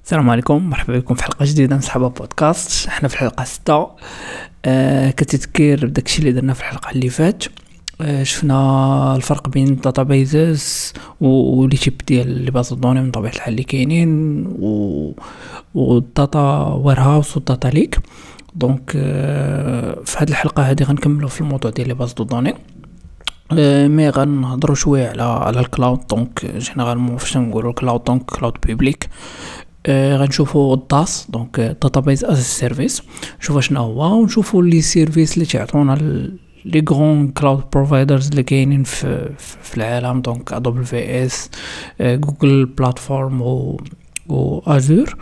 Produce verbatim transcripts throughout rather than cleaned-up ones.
السلام عليكم، مرحبا بكم في حلقة جديدة من صحابة بودكاست. احنا في الحلقة ستة. آه كتذكير بداكشي اللي درنا في الحلقة اللي فات. آه شفنا الفرق بين الداتابيزز ولي تيب ديال لي باز دوني من طبيعة الحال اللي كاينين و والداتا ويرهاوس والداتا ليك. دونك آه في هذه الحلقة هذه غنكملوا في الموضوع ديال لي باز دوني. أه مي غنهضروا شويه على على الكلاود. دونك جينيرالمون فاش نقولوا الكلاود دونك كلاود بيبليك. أه غنشوفوا الداس دونك داتابيز از سيرفيس، نشوفوا شنو هو ونشوفوا لي سيرفيس اللي تعطونا لي غران كلاود بروفايدرز اللي كاينين في في العالم. دونك دبليو في اس، جوجل بلاتفورم و و ازور.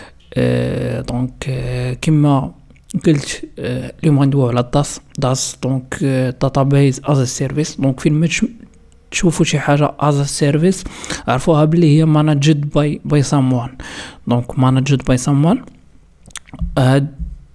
أه دونك أه كما قلت أه اليوم غندويو على الداس داس دونك داتابيز از سيرفيس. دونك فين ما تشوفوا شي حاجه از سيرفيس عرفوها بلي هي مانجد باي باي ساموان. دونك مانجد باي ساموان هاد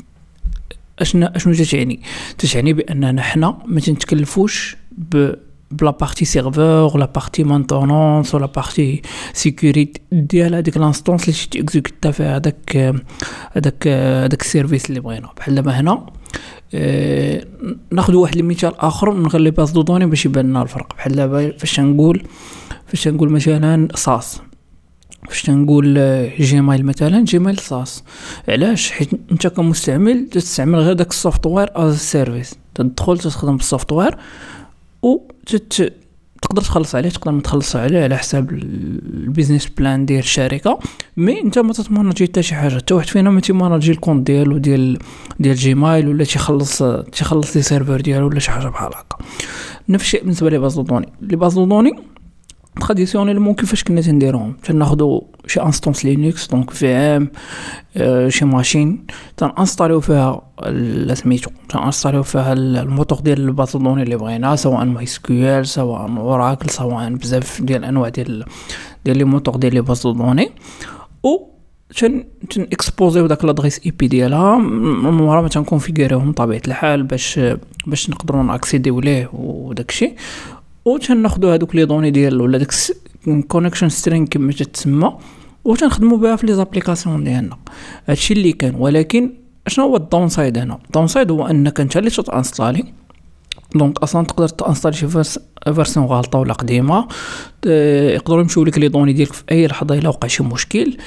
اشنا اشنو تعني تعني باننا حنا ما تنتكلفوش ب بلا بارتي سيرفور ولا بارتي مانتونونس ولا بارتي سيكوريتي ديال هذيك لانستونس اللي تيكزيكوتا فيها هذاك هذاك هذاك السيرفيس اللي بغينا. بحال دابا هنا أه ناخذ واحد المثال اخر من غير لي باز دو دوني باش يبان لنا الفرق. بحال دابا فاش نقول فاش نقول مثلا ساس، فاش نقول جيميل مثلا جيميل ساس. علاش؟ حيت انت كمستعمل تستعمل غير داك السوفتوير از سيرفيس، تدخل تستخدم السوفتوير و تت... تقدر تخلص عليه تقدر ما تخلص عليه على حساب البيزنس بلان ديال الشركه. مي انت ما تتمانجي حتى شي حاجه، حتى واحد فينا ما تيمانجي الكونت ديالو ديال ديال جيميل ولا تيخلص تيخلص لي سيرفر ديالو ولا شي حاجه بحال هكا. نفس الشيء بالنسبه لي باز دوني. لي باز دوني تراديسيونيلمون كيفاش كنا تنديروهم؟ تناخذوا شي انستونس لينكس دونك في ام أه شي ماشين تنانستاليو فيها سميتو تنانستاليو فيها الموتور ديال الباز دوني اللي بغينا، سواء ماي سكيول سواء اوراكل سواء بزاف ديال الانواع ديال ديال لي موتور ديال لي باز دوني. و تن تن اكسبوزيو داك لادريس اي بي ديالها من ورا ما تنكونفيغوريوهم بطبيعه الحال باش باش نقدروا ناكسيديو ليه وداكشي. و تناخذوا هذوك لي دوني ديال ولا داك كونيكشن سترينغ كما تتسمى و تنخدموا بها في لي زابليكاسيون ديالنا. هادشي اللي كان. ولكن شنو هو الداون سايد هنا؟ الداون سايد هو انك انت اللي تانستالي دونك اصلا تقدر تانستالي شي فيرسيون غلطه ولا قديمه، يقدروا يمشيو لك لي دوني ديالك في اي لحظه الا وقع شي مشكل.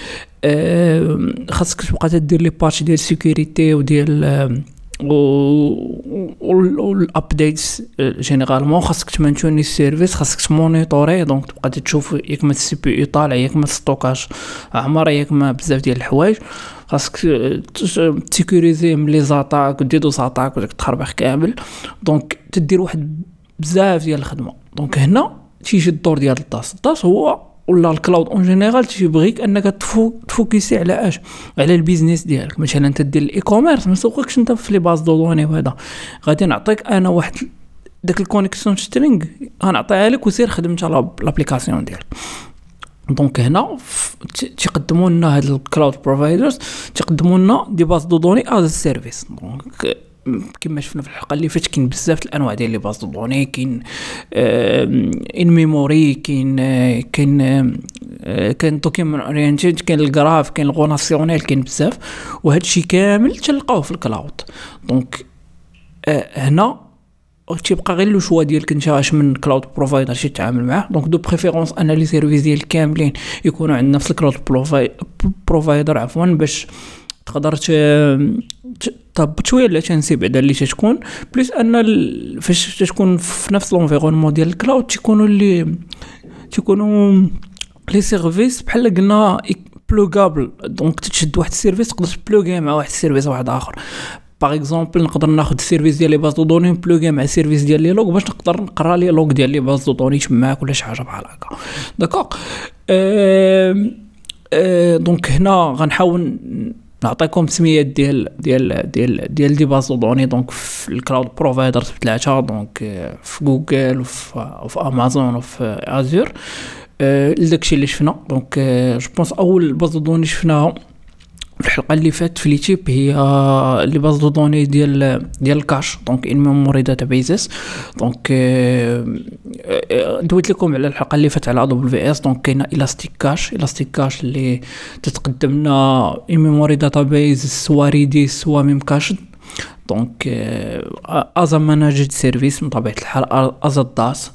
خاصك تبقى تدير لي باتش ديال سيكوريتي وديال و الابديتس جينيرالمون خاصك تمانتوني السيرفيس، خاصك تمونيتوري دونك تبقى تشوف ياك ما السي بي يو طالع ياك ما الستوكاج عمر ياك ما بزاف ديال الحوايج. خاصك تسيكوريزي من لي زاتاك وديدو زاتاك وداك التخربيق كامل. دونك تدير واحد بزاف ديال الخدمه. دونك هنا تيجي الدور ديال الداس. الداس هو ولا الكلاود اون جينيرال تيبغيك انك تفو تفوكسي على اش على البيزنس ديالك. مثلا انت دير الاي كوميرس ما سوقكش انت في لي باز دو دوني وهذا، غادي نعطيك انا واحد داك الكونيكسيون سترينغ غنعطيها لك وسير خدم انت لابليكاسيون ديالك. دونك هنا تيقدموا لنا هاد الكلاود بروفايدرز تيقدموا لنا دي باز دو دوني از سيرفيس. دونك كما شفنا في الحلقه اللي فاتت كاين بزاف الانواع ديال لي باز دوني. كاين ان ميموري، كاين كاين كاين دوكيومنت اورينتد، كاين الجراف، كاين الغوناسيونيل، كاين بزاف. وهذا الشيء كامل تلقاوه في الكلاود. دونك هنا تيبقى غير لو شوا ديالك انت اش من كلاود بروفايدر شي تتعامل معاه. دونك دو بريفيرونس ان لي سيرفيس ديال كاملين يكونوا عند نفس الكلاود بروفايدر عفوا باش تقدر تطبط شويه على تنسي بعدا اللي تكون بليس ان فاش تكون في نفس لونفيرونمون ديال الكلاود تيكونوا اللي تيكونوا لي سيرفيس بحال قلنا بلوغابل. دونك تشد واحد السيرفيس تقدر تبلوغي مع واحد السيرفيس واحد اخر. باغ اكزومبل نقدر ناخذ السيرفيس ديال لي باز دو دوني بلوغي مع السيرفيس ديال لي لوغ باش نقدر نقرا لي لوغ ديال لي باز دو دوني تماك ولا شي حاجه بحال هكا. داكوغ أه أه دونك هنا غنحاول نعطيكم سميات ديال ديال ديال ديال دي باز دوني. دونك في الكلاود بروفايدرز ثلاثه، دونك في جوجل وفي في امازون وفي ازور. أه داكشي اللي شفنا. دونك جو بونس اول باز دوني شفناها في الحلقه اللي فاتت في ليتيب هي لي باز دو دوني ديال ديال الكاش دونك ان ميموري داتابيزز. دونك دويت لكم على الحلقه اللي فاتت على دبليو في اس. دونك كاينه الاستيك كاش الاستيك كاش اللي تتقدم لنا ان ميموري داتابيز سوا ريديس سوا ميم كاش. دونك ازا ماناجد سيرفيس من طبيعه الحال ازا داس.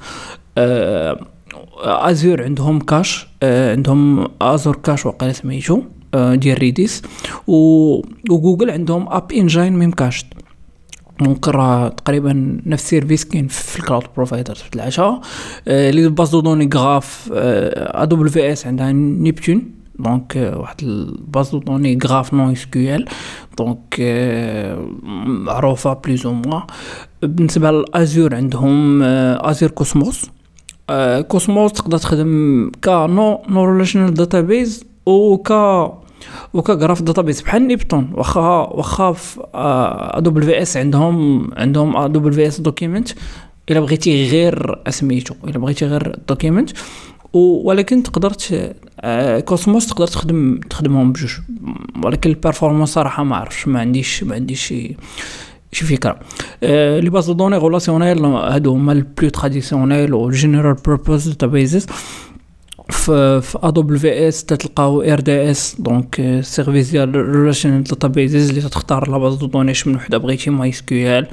ازور عندهم كاش عندهم ازور كاش وقيله سميتو ديال ريديس وجوجل عندهم اب انجين ميم كاش. دونك راه تقريبا نفس السيرفيس كاين في الكلاود بروفايدر في العشاء. لي باز دو دوني غراف دبليو في اس عندها نيبتون دونك واحد الباز دو دوني غراف نون اس كيو ال دونك معروفه بليز او موا. بالنسبه للازور عندهم ازور كوسموس. كوسموس تقدر تخدم كا نو نو ريليشنال داتابيز او كا وكا غراف داتابيس بحال نيبتون. واخا واخا في دبليو في اس عندهم عندهم دبليو في اس دوكيمنت الا بغيتي غير اسميتو الا بغيتي غير دوكيمنت ولكن تقدر كوسموس تقدر تخدم تخدمهم بجوج. ولكن البيرفورمانس صراحه ما عرفتش ما عنديش ما عنديش شي شي فكره. آه لي باز دو دوني ريلاسيونيل هادو هما البلو تراديسيونيل و جينيرال بيربوز داتابيزز. في في دبليو في اس تلقاو ار دي اس دونك سيرفيس ديال ريليشنال داتابيزز اللي تختار لا باز دو دوني من وحده بغيتي ماي اس كيو ال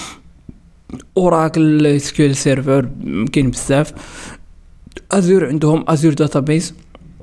اوراكل اس كيو ال سيرفر كاين بزاف. ازور عندهم ازور داتابيز.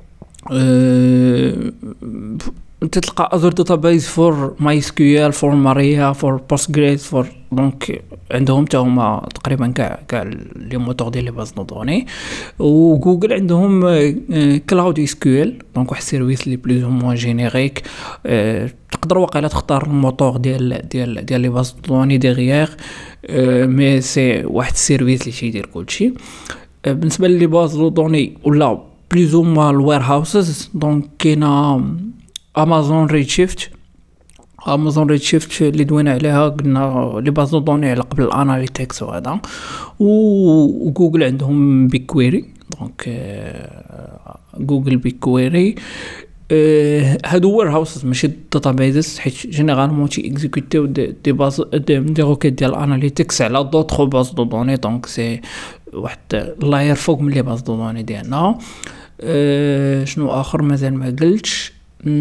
أه تلقى ازور داتابيز فور ماي اس كيو ال فور ماريا فور بوستغريس فور دونك عندهم حتى هما تقريبا كاع كاع لي موتور ديال لي باز دو دوني. وجوجل عندهم كلاود اس كيو ال دونك واحد السيرفيس لي بلوز مو جينيريك. أه تقدر واقيلا تختار الموتور ديال ديال ديال لي باز دو دوني ديغيير أه مي سي واحد السيرفيس اللي تيدير كلشي. أه بالنسبه لي باز دو دوني ولا بلوز مو الوير هاوسز دونك كاينه امازون ريدشيفت. امازون ريدشيفت اللي دوينا عليها قلنا لي باز دو دوني على قبل الاناليتكس وهذا. وجوجل عندهم بيكويري دونك جوجل بيكويري. هادو وير هاوسز ماشي داتابيزز حيت جينيرالمون تي اكزيكوتيو دي دي باز دي, دي روكيت ديال الاناليتكس على دوطخ باز دو دوني دونك سي واحد لاير فوق من لي باز دو دوني ديالنا. أه شنو اخر مازال ما قلتش.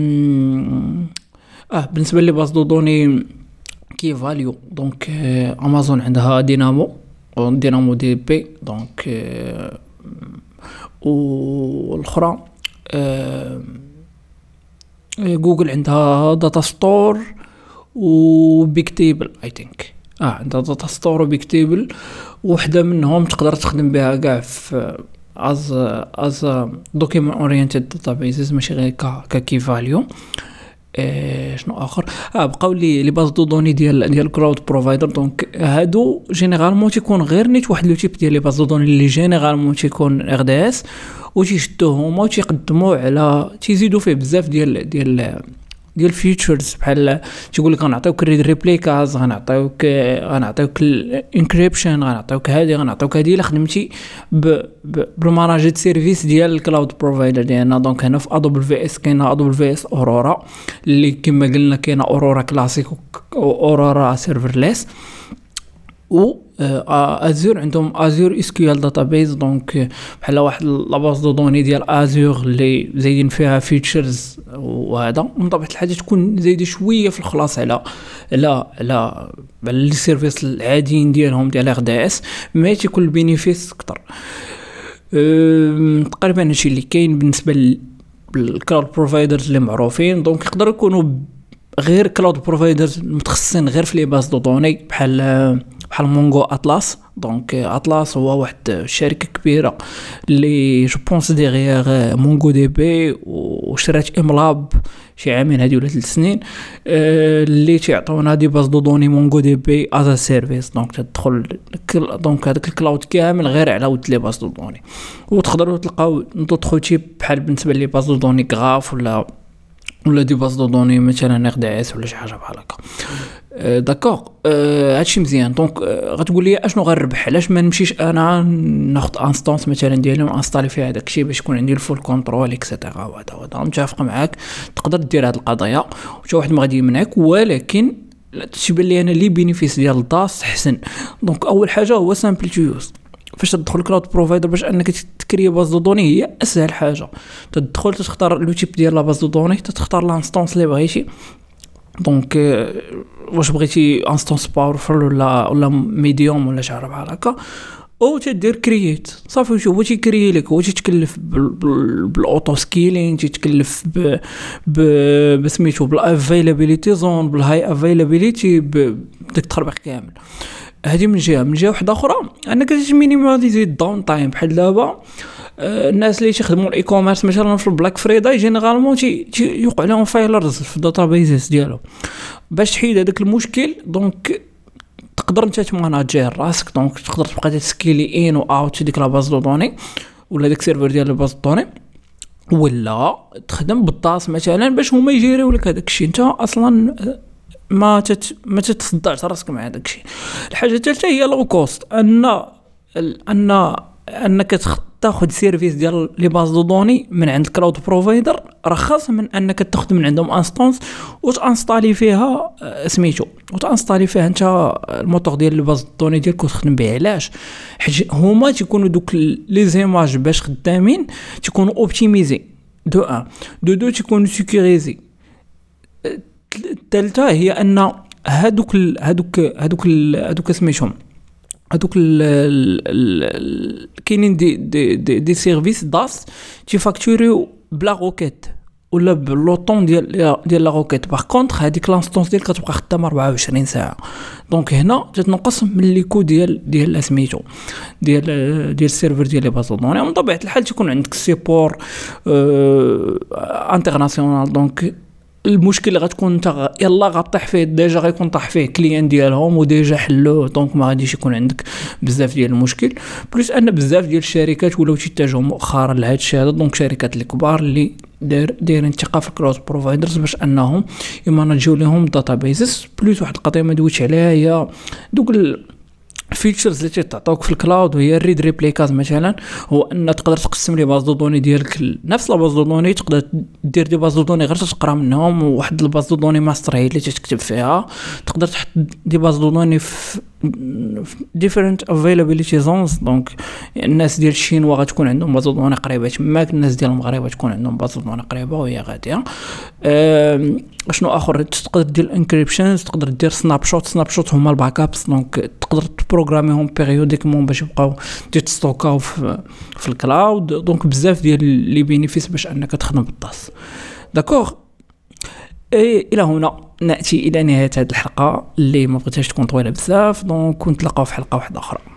اه بالنسبه لي باز دو دوني كي فاليو دونك امازون عندها دينامو دينامو دي بي دونك آه والاخرى آه جوجل عندها داتا ستور وبيك تيبل اي ثينك. اه عندها داتا ستور وبيك تيبل وحده منهم تقدر تخدم بها كاع في از از دوكيمنت اورينتد داتابيزز ماشي غير ك كي فاليو. إيه شنو اخر اه بقاو لي لي باز دو دوني ديال ديال كلاود بروفايدر. دونك هادو جينيرالمون تيكون غير نيت واحد لو تيب ديال لي باز دو دوني اللي جينيرالمون تيكون ار دي اس وتيشدوه هما وتيقدموا على تيزيدوا فيه بزاف ديال ديال ديال فيتشرز بحال تيقول لك غنعطيوك ريبليكاز غنعطيوك غنعطيوك الانكريبشن غنعطيوك هادي غنعطيوك هادي الا خدمتي بالماناجيد سيرفيس ديال الكلاود بروفايدر ديالنا. دونك هنا في دبليو في اس كاينه دبليو في اس اورورا اللي كما قلنا كاينه اورورا كلاسيك واورورا سيرفرليس. و ازور عندهم ازور اس كيو ال داتابيز دونك بحال واحد لا باز دو دوني ديال ازور اللي زايدين فيها فيتشرز وهذا من طبيعه الحال تكون زايده شويه في الخلاص على على على لي سيرفيس العاديين ديالهم ديال ار دي اس مي تيكون البينيفيس اكثر. تقريبا هادشي اللي كاين بالنسبه للكلاود بروفايدرز اللي معروفين. دونك يقدروا يكونوا غير كلاود بروفايدرز متخصصين غير في لي باز دو دوني بحال بحال مونغو اطلس. دونك اطلس هو واحد الشركه كبيره اللي جو بونس ديغيغ مونغو دي بي وشرات املاب شي عامين هادي ولا ثلاث سنين اللي تيعطيونا دي باز دو دوني مونغو دي بي از سيرفيس. دونك تدخل دونك هذاك الكلاود كامل غير على ود لي باز دو دوني وتقدروا تلقاو دوطخ تيب بحال بالنسبه لي باز دو دوني غراف ولا ولا دي باز دو دوني مثلا ار دي اس ولا شي حاجه بحال هكا. أه داكوغ. أه هادشي مزيان. دونك أه غتقول لي اشنو غنربح؟ علاش ما نمشيش انا ناخذ انستانس مثلا ديالي ونانستالي فيها هذاك الشيء باش يكون عندي الفول كنترول اكسيتيرا. وهذا هذا متفق معاك، تقدر دير هاد القضيه وحتى واحد ما غادي يمنعك، ولكن تيبان لي انا لي بينيفيس ديال داس حسن. دونك اول حاجه هو سامبل تو يوز. فاش تدخل كلاود بروفايدر باش انك تكري باز دو دوني هي اسهل حاجه. تدخل تختار لو تيب ديال لا باز دو دوني، تختار لانستانس اللي بغيتي. دونك واش بغيتي انستانس باورفول ولا ولا ميديوم ولا شي حاجه بحال هكا، او تدير كرييت صافي. شوف هو تيكري لك، هو تيتكلف بالاوتو سكيلين، تيتكلف ب ب بسميتو بالافيلابيليتي زون، بالهاي افيلابيليتي، بداك التخربيق كامل. هذه من جهه. من جهه واحده اخرى انك تمينيماليزي الداون تايم. بحال دابا الناس اللي تيخدموا الاي كوميرس مثلا في البلاك فريداي جينيرالمون تيوقع لهم فايلرز في الداتابيز ديالو. باش تحيد هذاك المشكل دونك تقدر انت تماناجير راسك. دونك تقدر تبقى تسكيلي ان و اوت ديك لا باز دو دوني ولا داك السيرفر ديال لا باز دو دوني، ولا تخدم بالطاس مثلا باش هما يجيريو لك هذاك الشيء. انت اصلا ما تت ما تتصدعش راسك مع هذاك الشيء. الحاجه الثالثه هي لو كوست، ان ان انك تاخذ سيرفيس ديال لي باز دو دوني من عند كلاود بروفايدر رخص من انك تاخذ من عندهم انستانس وتانستالي فيها سميتو وتانستالي فيها انت الموتور ديال لي باز دو دوني ديالك وتخدم به. علاش؟ حيت هما تيكونوا دوك لي زيماج باش خدامين تيكونوا اوبتيميزي دو ان دو دو تيكونوا سيكوريزي. الثالثه هي ان هادوك ال هادوك هادوك ال هادوك سميتهم هادوك ال كاينين دي دي دي, دي سيرفيس داس تيفاكتوريو بلا روكيت ولا بلوطون ديال ديال لا روكيت. باغ كونطخ هذيك لانستونس ديالك كتبقى خدامه أربعة وعشرين ساعه. دونك هنا تتنقص من لي كو ديال ديال سميتو ديال ديال السيرفر ديال لي باز دوني. من طبيعه الحال تكون عندك سيبور اه انترناسيونال. دونك المشكل اللي غتكون انت يلا غطيح فيه ديجا غيكون طاح فيه كليان ديالهم وديجا حلوه. دونك ما غاديش يكون عندك بزاف ديال المشكل. بلوس ان بزاف ديال الشركات ولاو تيتجهوا مؤخرا لهذا الشيء هذا. دونك شركات الكبار اللي داير دايرين ثقه في الكلاود بروفايدرز باش انهم يمانجيو لهم داتابيزز. بلوس واحد القضيه ما دويتش عليها هي دوك الفيتشرز اللي تيعطوك في الكلاود، وهي الريد ريبليكاز مثلا. هو ان تقدر تقسم لي باز دو دوني ديالك نفس لا باز دو دوني، تقدر دير دي باز دو دوني غير تقرا منهم، وواحد الباز دو دوني ماستر هي اللي تكتب فيها. تقدر تحط دي باز دو دوني في different availability zones. دونك الناس ديال الشينوا غتكون عندهم باز دو دوني قريبه تماك، الناس ديال المغرب غتكون عندهم باز دو دوني قريبه وهي غاديه. شنو اخر؟ تقدر دير انكريبشنز، تقدر دير سناب شوت. سناب شوت هما الباك ابس. دونك تقدر تبروغراميهم بيريوديكمون باش يبقاو تستوكاو في, في الكلاود. دونك بزاف ديال لي بينيفيس باش انك تخدم بالطاس. داكوغ. اي الى هنا ناتي الى نهايه هذه الحلقه اللي ما بغيتهاش تكون طويله بزاف. دونك كنت نتلاقاو في حلقه واحده اخرى.